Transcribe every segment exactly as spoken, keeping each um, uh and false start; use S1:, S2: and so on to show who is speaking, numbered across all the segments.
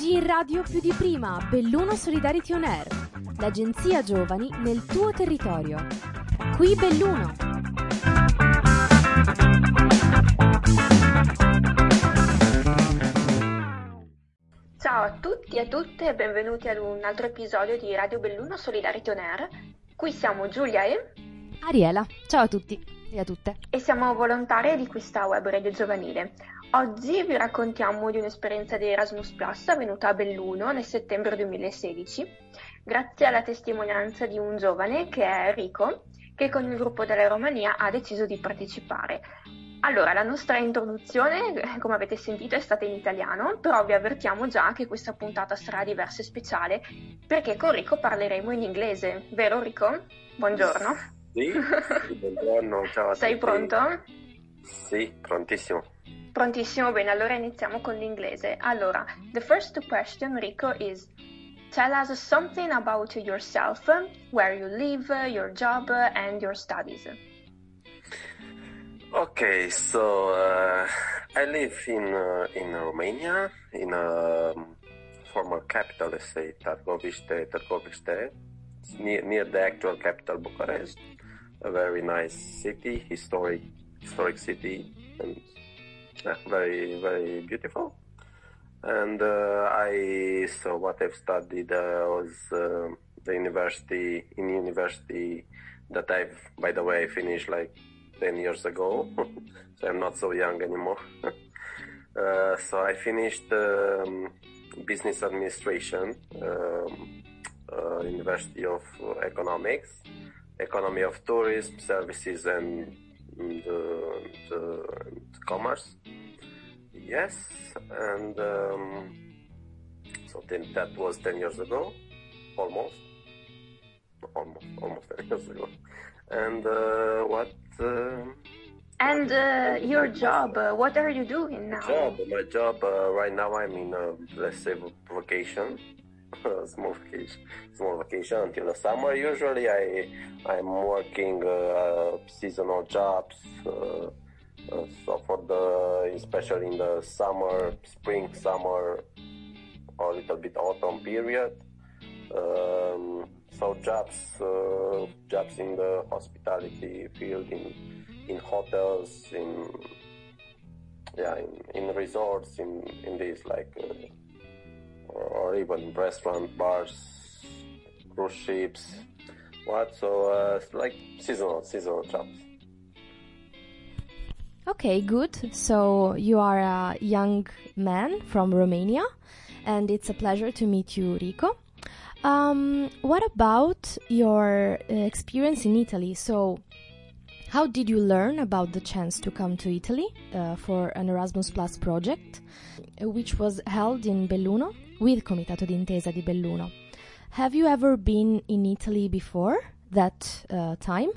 S1: Oggi in radio più di prima, Belluno Solidarity On Air, l'agenzia giovani nel tuo territorio. Qui Belluno.
S2: Ciao a tutti e a tutte e benvenuti ad un altro episodio di Radio Belluno Solidarity On Air. Qui siamo Giulia e
S1: Ariela. Ciao a tutti e a tutte.
S2: E siamo volontarie di questa web radio giovanile. Oggi vi raccontiamo di un'esperienza di Erasmus Plus avvenuta a Belluno nel settembre duemilasedici, grazie alla testimonianza di un giovane che è Enrico, che con il gruppo della Romania ha deciso di partecipare. Allora, la nostra introduzione, come avete sentito, è stata in italiano, però vi avvertiamo già che questa puntata sarà diversa e speciale, perché con Rico parleremo in inglese, vero Rico? Buongiorno.
S3: Sì, buongiorno, ciao a
S2: Sei
S3: tutti.
S2: pronto?
S3: Sì, prontissimo.
S2: Prontissimo, bene, allora iniziamo con l'inglese. Allora, the first question, Rico, is tell us something about yourself, where you live, your job, and your studies.
S3: Okay, so uh, I live in uh, in Romania, in a former capital, let's say Târgoviște, Târgoviște, near, near the actual capital Bucharest. A very nice city, historic historic city, and yeah, very very beautiful. And uh, I so what I've studied uh, was uh, the university in university that I've, by the way, finished like ten years ago, so I'm not so young anymore. uh, so I finished um, business administration, um, uh, University of Economics, economy of tourism, services, and the, the, the commerce. Yes, and um, so then that was ten years ago, almost, almost, almost ten years ago. And uh, what? Uh,
S2: And uh, your job, uh, what are you doing now?
S3: Job, my job uh, right now. I'm in a, let's say, vacation, small vacation, small vacation until the summer. Usually, I I'm working uh, seasonal jobs. Uh, uh, so for the, especially in the summer, spring, summer, or a little bit autumn period. Um, so jobs, uh, jobs in the hospitality field, in in hotels, in yeah, in, in resorts, in in this like, uh, or, or even restaurant, bars, cruise ships, what? So uh, like seasonal seasonal jobs.
S1: Okay, good. So you are a young man from Romania, and it's a pleasure to meet you, Rico. Um, what about your uh, experience in Italy? So, how did you learn about the chance to come to Italy uh, for an Erasmus Plus project, uh, which was held in Belluno with Comitato d'Intesa di Belluno? Have you ever been in Italy before that uh, time?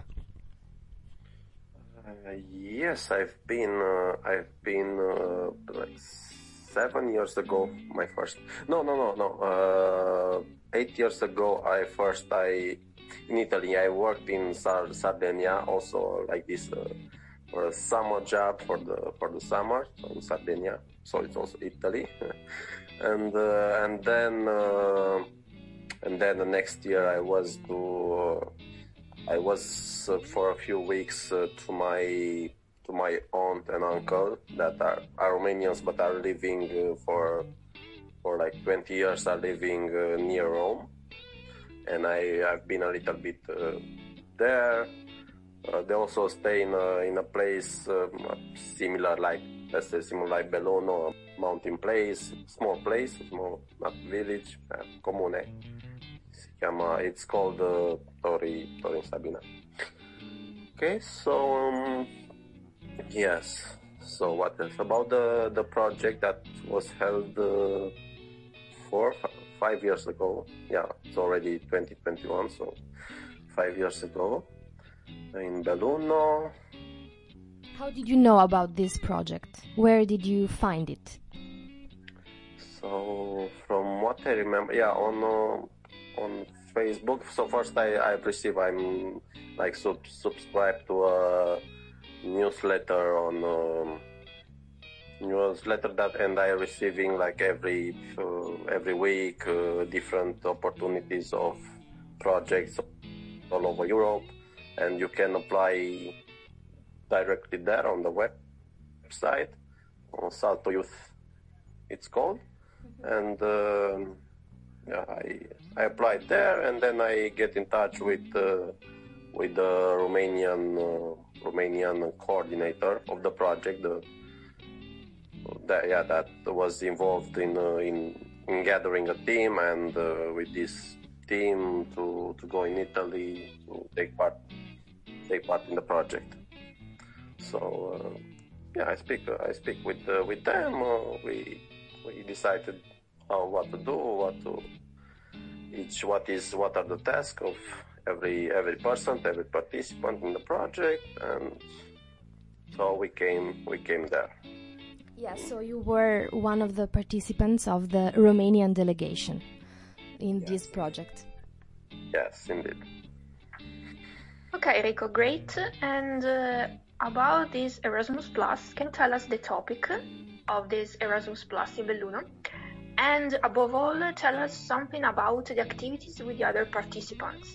S3: Uh, yes, I've been. Uh, I've been uh, like seven years ago. My first. No, no, no, no. Uh, eight years ago, I first I in Italy. I worked in Sar- Sardinia, also like this uh, for a summer job for the for the summer so in Sardinia. So it's also Italy, and uh, and then uh, and then the next year I was to. Uh, I was uh, for a few weeks uh, to my to my aunt and uncle that are, are Romanians but are living uh, for for like twenty years are living uh, near Rome, and I I've been a little bit uh, there. Uh, they also stay in a, in a place uh, similar like let's say similar like Belluno, a mountain place, small place, small not village, uh, comune. It's called uh, Tori Tori Sabina. Okay, so um, yes. So what else about the the project that was held uh, four f- five years ago? Yeah, it's already twenty twenty-one, so five years ago in Belluno.
S1: How did you know about this project? Where did you find it?
S3: So from what I remember, yeah, on. Uh, on Facebook. So first I, I received, I'm like sub, subscribed to a newsletter on um, newsletter that, and I receiving like every uh, every week uh, different opportunities of projects all over Europe, and you can apply directly there on the website, on Salto Youth, it's called, mm-hmm. and um, yeah, I I applied there, and then I get in touch with uh, with the Romanian uh, Romanian coordinator of the project, the that yeah that was involved in uh, in in gathering a team, and uh, with this team to to go in Italy to take part take part in the project. So uh, yeah, I speak uh, I speak with uh, with them. Uh, we we decided how what to do, what to each what is what are the tasks of every every person, every participant in the project, and so we came we came there.
S1: Yeah, so you were one of the participants of the Romanian delegation in yes. this project.
S3: Yes, indeed.
S2: Okay, Rico, great. And uh, about this Erasmus Plus, can you tell us the topic of this Erasmus Plus in Belluno? And above all, tell us something about the activities with the other participants.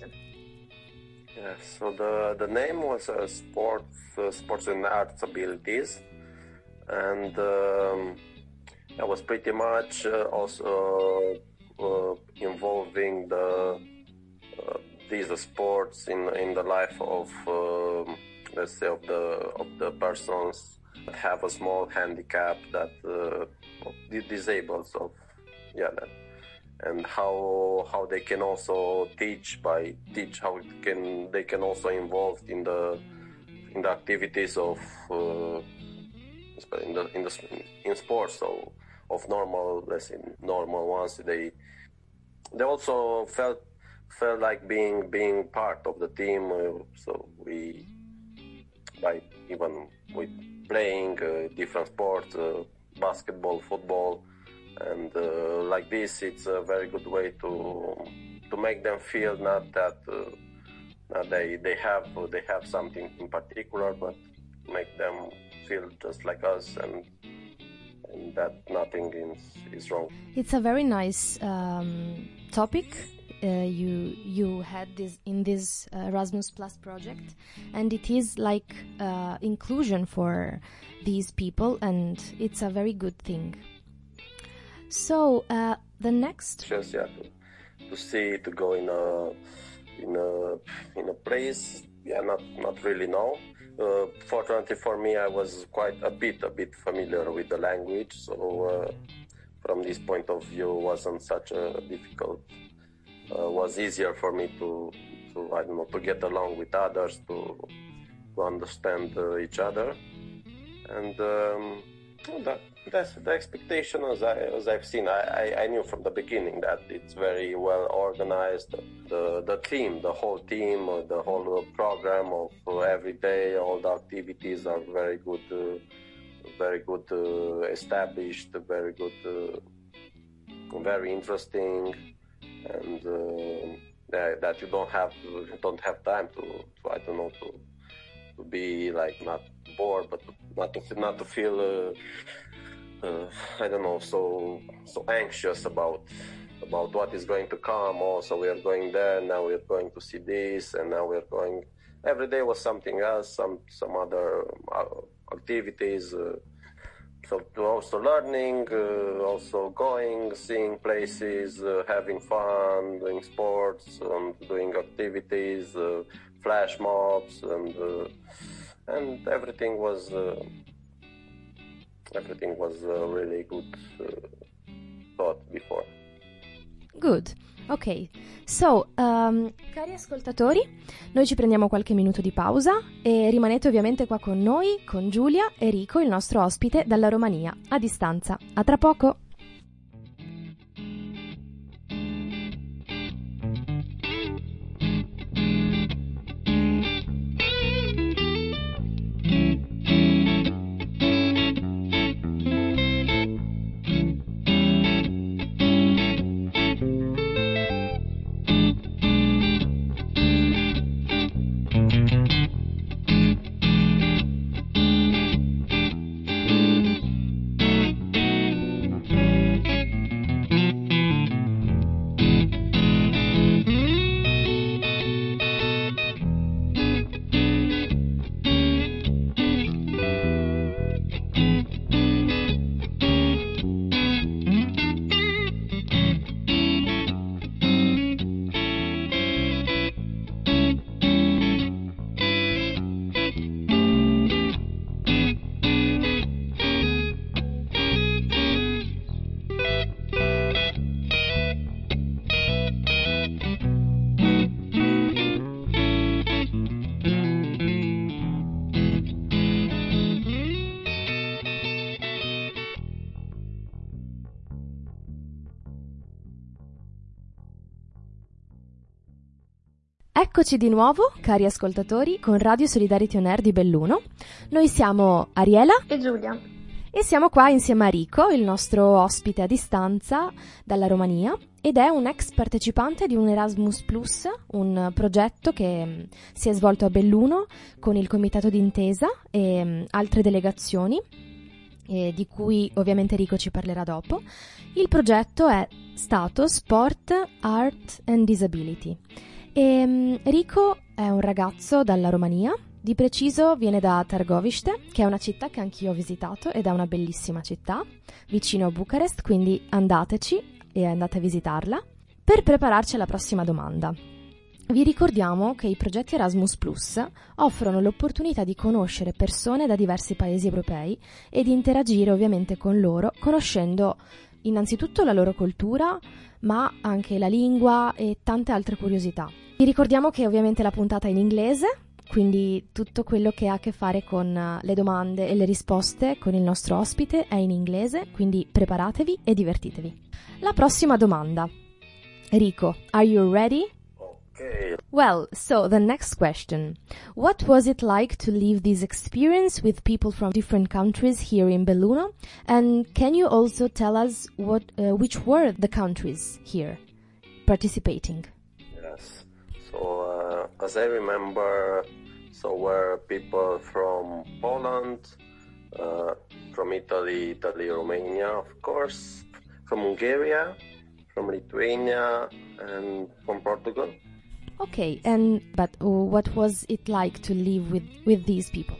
S3: Yes, so the, the name was uh, Sports, uh, Sports and Arts Abilities. And um, that was pretty much uh, also uh, involving the uh, these sports in in the life of uh, let's say of the of the persons that have a small handicap, that uh, disabled of yeah that, and how how they can also teach by teach how it can they can also involved in the in the activities of uh, in the in the in sports, so of normal, let's say normal ones, they they also felt felt like being being part of the team. Uh, so we by even with playing uh, different sports, uh, basketball, football, and uh, like this, it's a very good way to to make them feel not that uh, not they they have they have something in particular, but make them feel just like us, and, and that nothing is, is wrong.
S1: It's a very nice um, topic uh, you you had this in this uh, Erasmus Plus project, and it is like uh, inclusion for these people, and it's a very good thing. So uh, the next
S3: just yeah to, to see to go in a in a in a place yeah not not really know. Uh, fortunately for me, I was quite a bit, a bit familiar with the language, so uh, from this point of view, wasn't such a difficult. Uh, was easier for me to, to, I don't know, to get along with others, to, to understand uh, each other, and um, that, that's the expectation as I as I've seen. I, I, I knew from the beginning that it's very well organized. The the team, the whole team, uh, the whole program of uh, every day, all the activities are very good, uh, very good uh, established, very good, uh, very interesting, and uh, that, that you don't have to, don't have time to, to I don't know to to be like not bored, but not to not to feel. Uh, Uh, I don't know, so so anxious about about what is going to come. Also, we are going there now. We are going to see this, and now we are going. Every day was something else, some some other uh, activities. Uh, so also learning, uh, also going, seeing places, uh, having fun, doing sports, and doing activities, uh, flash mobs, and uh, and everything was. Uh, Everything was uh, really good uh, thought before.
S1: Good. Ok. So, um, cari ascoltatori, noi ci prendiamo qualche minuto di pausa e rimanete ovviamente qua con noi, con Giulia e Rico, il nostro ospite dalla Romania, a distanza. A tra poco! Eccoci di nuovo, cari ascoltatori, con Radio Solidarity On Air di Belluno. Noi siamo Ariela
S2: e Giulia
S1: e siamo qua insieme a Rico, il nostro ospite a distanza dalla Romania, ed è un ex partecipante di un Erasmus Plus, un progetto che si è svolto a Belluno con il Comitato d'Intesa e altre delegazioni, e di cui ovviamente Rico ci parlerà dopo. Il progetto è stato Sport, Art and Disability. E Rico è un ragazzo dalla Romania, di preciso viene da Târgoviște, che è una città che anch'io ho visitato ed è una bellissima città, vicino a Bucarest, quindi andateci e andate a visitarla. Per prepararci alla prossima domanda, vi ricordiamo che i progetti Erasmus Plus offrono l'opportunità di conoscere persone da diversi paesi europei e di interagire ovviamente con loro, conoscendo innanzitutto la loro cultura, ma anche la lingua e tante altre curiosità. Vi ricordiamo che ovviamente la puntata è in inglese, quindi tutto quello che ha a che fare con le domande e le risposte con il nostro ospite è in inglese, quindi preparatevi e divertitevi. La prossima domanda. Rico, are you ready?
S3: Okay.
S1: Well, so the next question. What was it like to live this experience with people from different countries here in Belluno? And can you also tell us what, uh, which were the countries here participating?
S3: Yes. So, uh, as I remember, so were people from Poland, uh, from Italy, Italy, Romania, of course, from Hungary, from Lithuania, and from Portugal.
S1: Okay, and but what was it like to live with, with these people?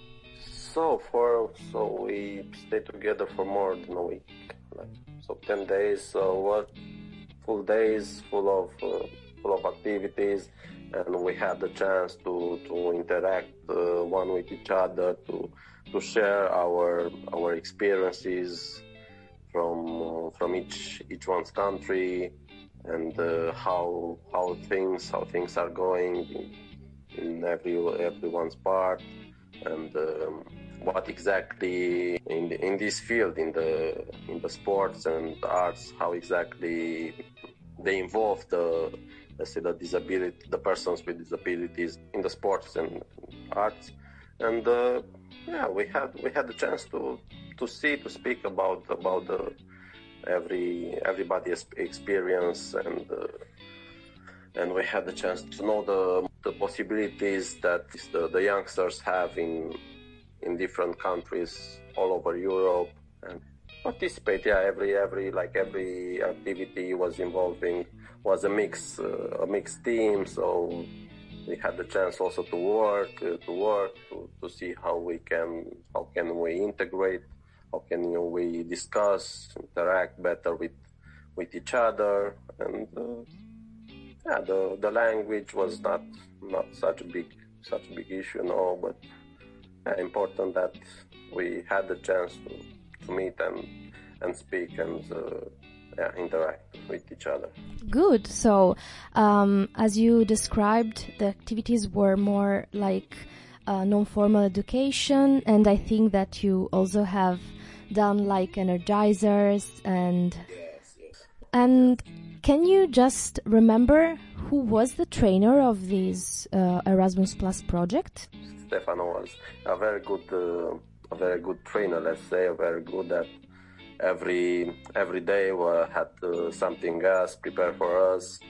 S3: So for so we stayed together for more than a week, like so ten days. So what full days, full of uh, full of activities, and we had the chance to to interact uh, one with each other, to to share our our experiences from uh, from each each one's country. And uh, how how things how things are going in, in every everyone's part, and um, what exactly in the, in this field, in the in the sports and arts, how exactly they involve the let's say the disability the persons with disabilities in the sports and arts. And uh, yeah, we had we had the chance to to see to speak about about the every everybody's experience, and uh, and we had the chance to know the the possibilities that the, the youngsters have in in different countries all over Europe, and participate. Yeah, every every like every activity was involving was a mix uh, a mixed team, so we had the chance also to work uh, to work to, to see how we can how can we integrate. How can you know, we discuss, interact better with with each other, and uh, yeah, the the language was not not such a big such a big issue, no, but yeah, important that we had the chance to, to meet and and speak and uh, yeah, interact with each other.
S1: Good. So, um, as you described, the activities were more like uh, non-formal education, and I think that you also have done like energizers and
S3: yes, yes.
S1: and can you just remember who was the trainer of this uh, Erasmus Plus project?
S3: Stefano was a very good uh, a very good trainer, let's say, very good at every every day we had uh, something else prepared for us,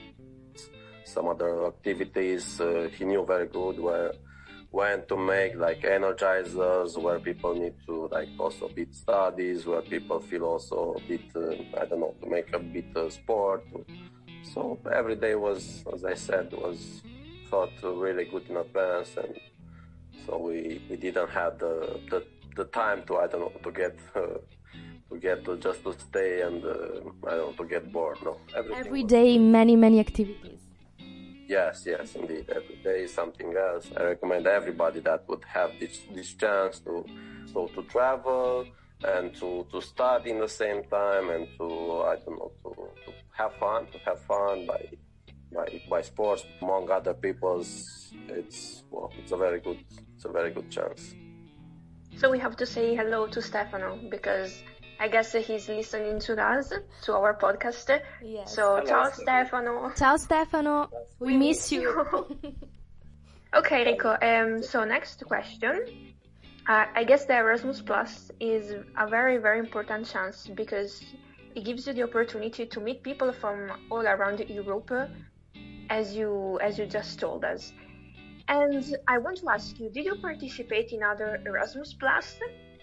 S3: some other activities. Uh, he knew very good where when to make like energizers, where people need to like also a bit studies, where people feel also a bit uh, I don't know, to make a bit uh, sport. So every day was, as I said, was thought really good in advance, and so we we didn't have the the, the time to I don't know to get uh, to get to just to stay and uh, I don't know to get bored. No,
S1: every day many many activities.
S3: Yes, yes, indeed. Every day is something else. I recommend everybody that would have this this chance to so to travel and to, to study in the same time, and to I don't know to, to have fun, to have fun by by by sports among other people's. It's well, it's a very good, it's a very good chance.
S2: So we have to say hello to Stefano because I guess he's listening to us, to our podcast.
S1: Yes.
S2: So,
S3: Hello,
S2: ciao
S3: Stefano.
S2: Stefano.
S1: Ciao Stefano, we, miss you.
S2: Okay, Rico. Um, so next question. Uh, I guess the Erasmus Plus is a very, very important chance because it gives you the opportunity to meet people from all around Europe, as you as you just told us. And I want to ask you, did you participate in other Erasmus Plus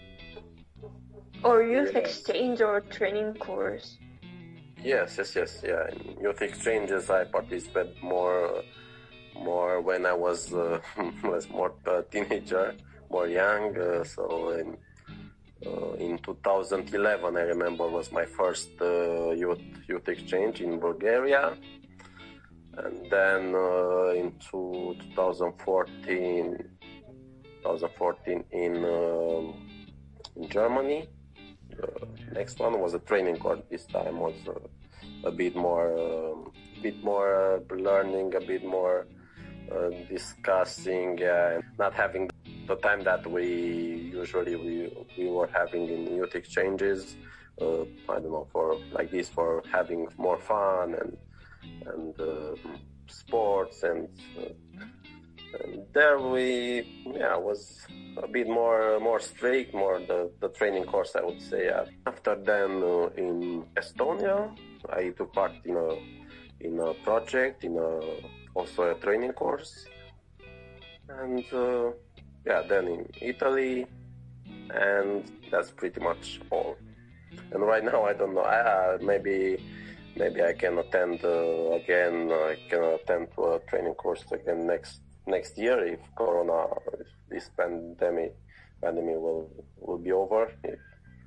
S2: or youth
S3: Yes.
S2: exchange or training course?
S3: Yes, yes, yes, yeah. In youth exchanges, I participated more, more when I was uh, was more a teenager, more young. Uh, so in uh, in two thousand eleven, I remember was my first uh, youth youth exchange in Bulgaria, and then uh, into twenty fourteen, twenty fourteen in um, in Germany. The next one was a training course. This time was uh, a bit more, um, bit more uh, learning, a bit more uh, discussing, uh, and not having the time that we usually we we were having in youth exchanges. Uh, I don't know, for like this, for having more fun and and uh, sports and. Uh, And there we, yeah, was a bit more more strict, more the, the training course, I would say. After then, uh, in Estonia, I took part in a in a project, in a also a training course, and uh, yeah, then in Italy, and that's pretty much all. And right now, I don't know. I, maybe maybe I can attend uh, again. I can attend to a training course again next. Next year, if Corona, if this pandemic, pandemic will will be over, if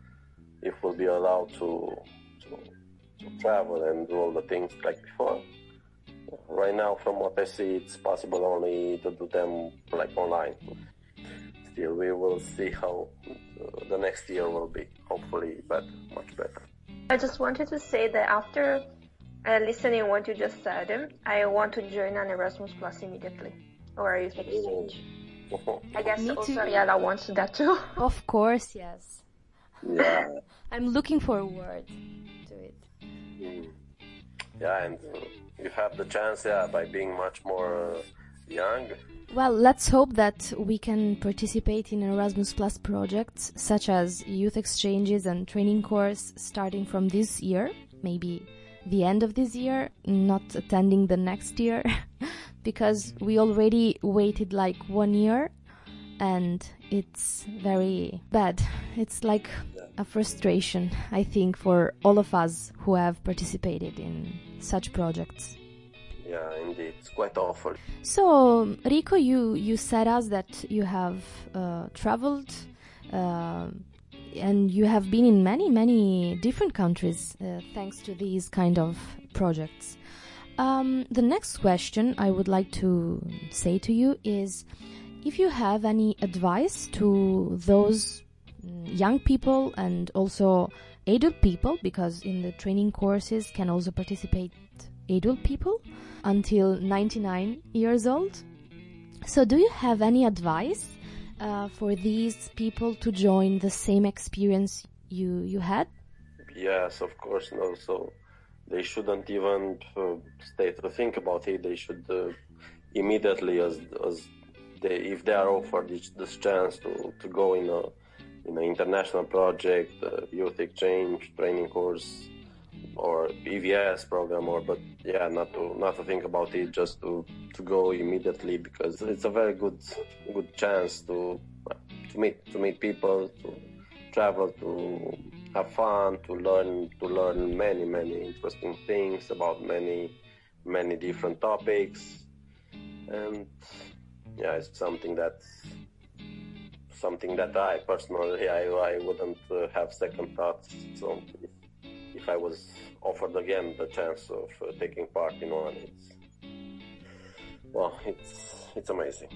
S3: if we'll be allowed to, to to travel and do all the things like before. Right now, from what I see, it's possible only to do them like online. Still, we will see how uh, the next year will be. Hopefully, but much better.
S2: I just wanted to say that after uh, listening what you just said, I want to join an Erasmus Plus immediately. Or a youth exchange. I guess
S1: Me
S2: also
S1: too.
S2: Ariella wants that too.
S1: Of course, yes.
S3: Yeah.
S1: I'm looking forward to it.
S3: Mm. Yeah, and uh, you have the chance, yeah, by being much more uh, young.
S1: Well, let's hope that we can participate in Erasmus Plus projects such as youth exchanges and training course starting from this year, maybe the end of this year, not attending the next year, because we already waited like one year and it's very bad. It's like a frustration, I think, for all of us who have participated in such projects.
S3: Yeah, indeed, it's quite awful.
S1: So, Rico, you, you said us that you have uh, traveled uh, and you have been in many, many different countries uh, thanks to these kind of projects. Um, the next question I would like to say to you is if you have any advice to those young people and also adult people, because in the training courses can also participate adult people until ninety-nine years old. So do you have any advice uh, for these people to join the same experience you, you had?
S3: Yes, of course. No, so they shouldn't even uh, stay to think about it. They should uh, immediately, as as they, if they are offered this, this chance to, to go in a in an international project, uh, youth exchange, training course, or E V S program, or but yeah, not to not to think about it, just to, to go immediately, because it's a very good good chance to to meet to meet people, to travel, to have fun, to learn to learn many many interesting things about many many different topics, and yeah, it's something that's something that I personally I I wouldn't uh, have second thoughts. So if, if I was offered again the chance of uh, taking part in one, it's well, it's it's amazing.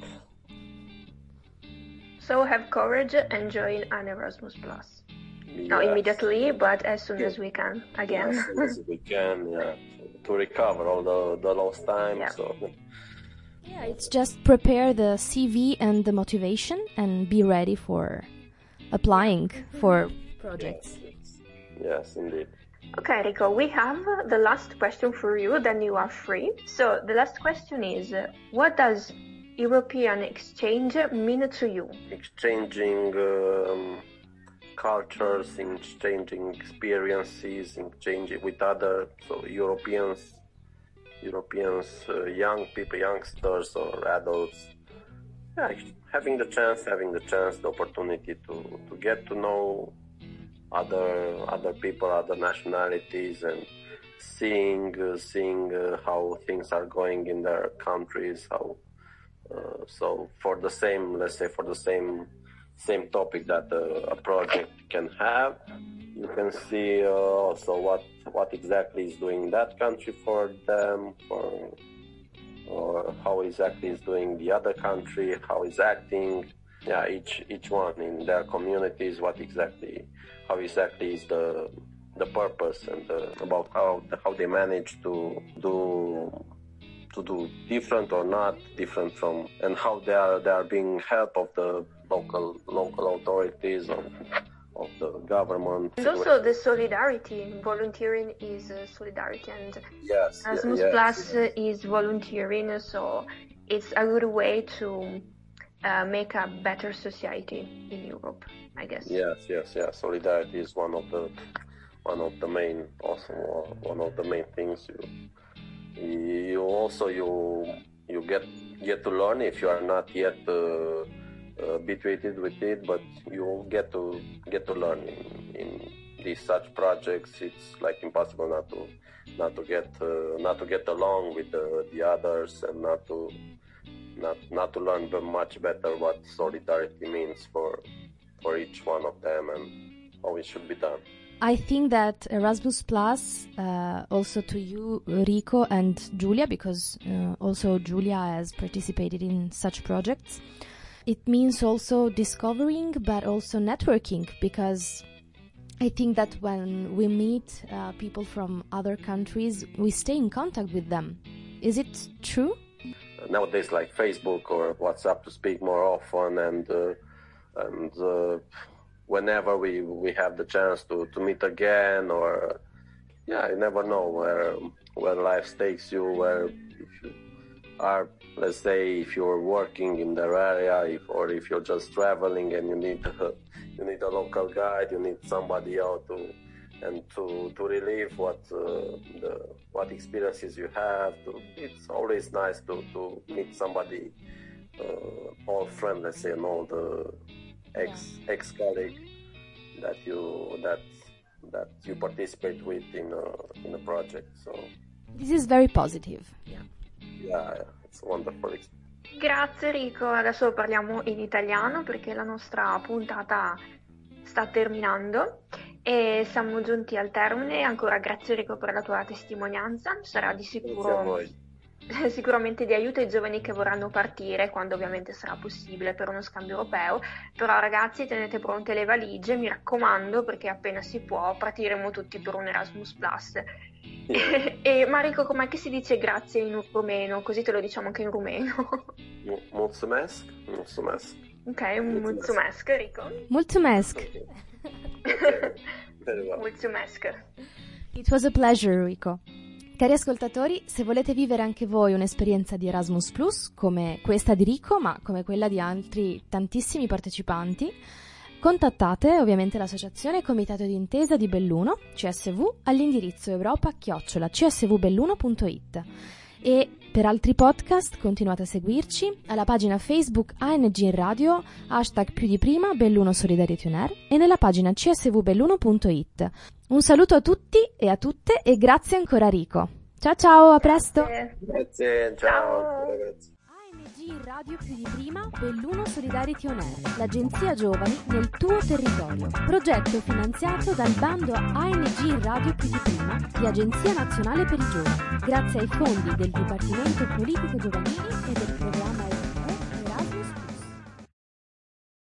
S2: So have courage and join an Erasmus Plus. Not
S3: Yes.
S2: immediately, but as soon as we can again.
S3: As soon as we can, yeah, to recover all the the lost time.
S2: Yeah.
S3: So
S1: Yeah, it's just prepare the C V and the motivation and be ready for applying for projects.
S3: yes, Yes, indeed.
S2: Okay, Rico, we have the last question for you, then you are free. So the last question is, uh, what does European exchange mean to you?
S3: Exchanging um, cultures, exchanging experiences, exchanging with other so Europeans, Europeans, uh, young people, youngsters or adults. Yeah, having the chance, having the chance, the opportunity to, to get to know other other people, other nationalities, and seeing uh, seeing uh, how things are going in their countries. How uh, so for the same, let's say, for the same same topic that uh, a project can have, you can see uh, also what what exactly is doing that country for them, for or how exactly is doing the other country, how is acting. Yeah, each each one in their communities, what exactly, how exactly is the the purpose, and the, about how how they manage to do to do different or not different from, and how they are they are being helped of the local local authorities of of the government.
S2: And also the solidarity, volunteering is uh, solidarity, and
S3: yes,
S2: Erasmus
S3: yes,
S2: Plus
S3: yes.
S2: is volunteering, so it's a good way to Uh, make a better society in Europe, I guess.
S3: Yes, yes, yes. Solidarity is one of the one of the main, also one of the main things. You, you also you you get get to learn if you are not yet uh, uh, habituated with it, but you get to get to learn in, in these such projects. It's like impossible not to not to get uh, not to get along with the, the others, and not to. Not not to learn much better what solidarity means for for each one of them and how it should be done.
S1: I think that Erasmus Plus, uh, also to you, Rico and Giulia, because uh, also Giulia has participated in such projects, it means also discovering but also networking, because I think that when we meet uh, people from other countries, we stay in contact with them. Is it true?
S3: Nowadays, like Facebook or WhatsApp, to speak more often, and uh, and uh, whenever we we have the chance to, to meet again, or yeah, you never know where where life takes you. Where if you are, let's say, if you're working in their area, if, or if you're just traveling and you need uh, you need a local guide, you need somebody out to and to to relieve what uh, the what experiences you have. To, it's always nice to, to meet somebody, uh, old friend, let's say, an old uh, ex yeah. ex colleague that you that that you participate with in a in a project. So
S1: this is very positive.
S3: Yeah, yeah, it's a wonderful experience.
S2: Grazie Rico, adesso parliamo in italiano perché la nostra puntata sta terminando. E siamo giunti al termine. Ancora grazie Rico per la tua testimonianza, sarà di sicuro sicuramente di aiuto ai giovani che vorranno partire, quando ovviamente sarà possibile, per uno scambio europeo. Però ragazzi, tenete pronte le valigie, mi raccomando, perché appena si può partiremo tutti per un Erasmus Plus. Yeah. E Marico, com'è che si dice grazie in rumeno? Così te lo diciamo anche in rumeno.
S3: Mulțumesc, mulțumesc.
S2: Ok, mulțumesc Rico.
S1: Mulțumesc.
S2: Mulțumesc.
S1: It was a pleasure, Rico. Cari ascoltatori, se volete vivere anche voi un'esperienza di Erasmus Plus, come questa di Rico, ma come quella di altri tantissimi partecipanti, contattate ovviamente l'associazione Comitato d'Intesa di Belluno, C S V, all'indirizzo europa chiocciola c s v belluno punto i t. E per altri podcast continuate a seguirci alla pagina Facebook A N G in Radio, hashtag più di prima, Belluno Solidarity On Air, e nella pagina c s v belluno punto i t. Un saluto a tutti e a tutte e grazie ancora Rico. Ciao ciao, a presto!
S3: Grazie, grazie ciao! ciao.
S1: A N G in Radio più di prima, Belluno Solidarity On Air, l'agenzia giovani nel tuo territorio. Progetto finanziato dal bando A N G in Radio più di prima di Agenzia Nazionale per i Giovani, grazie ai fondi del Dipartimento Politico Giovanili e del programma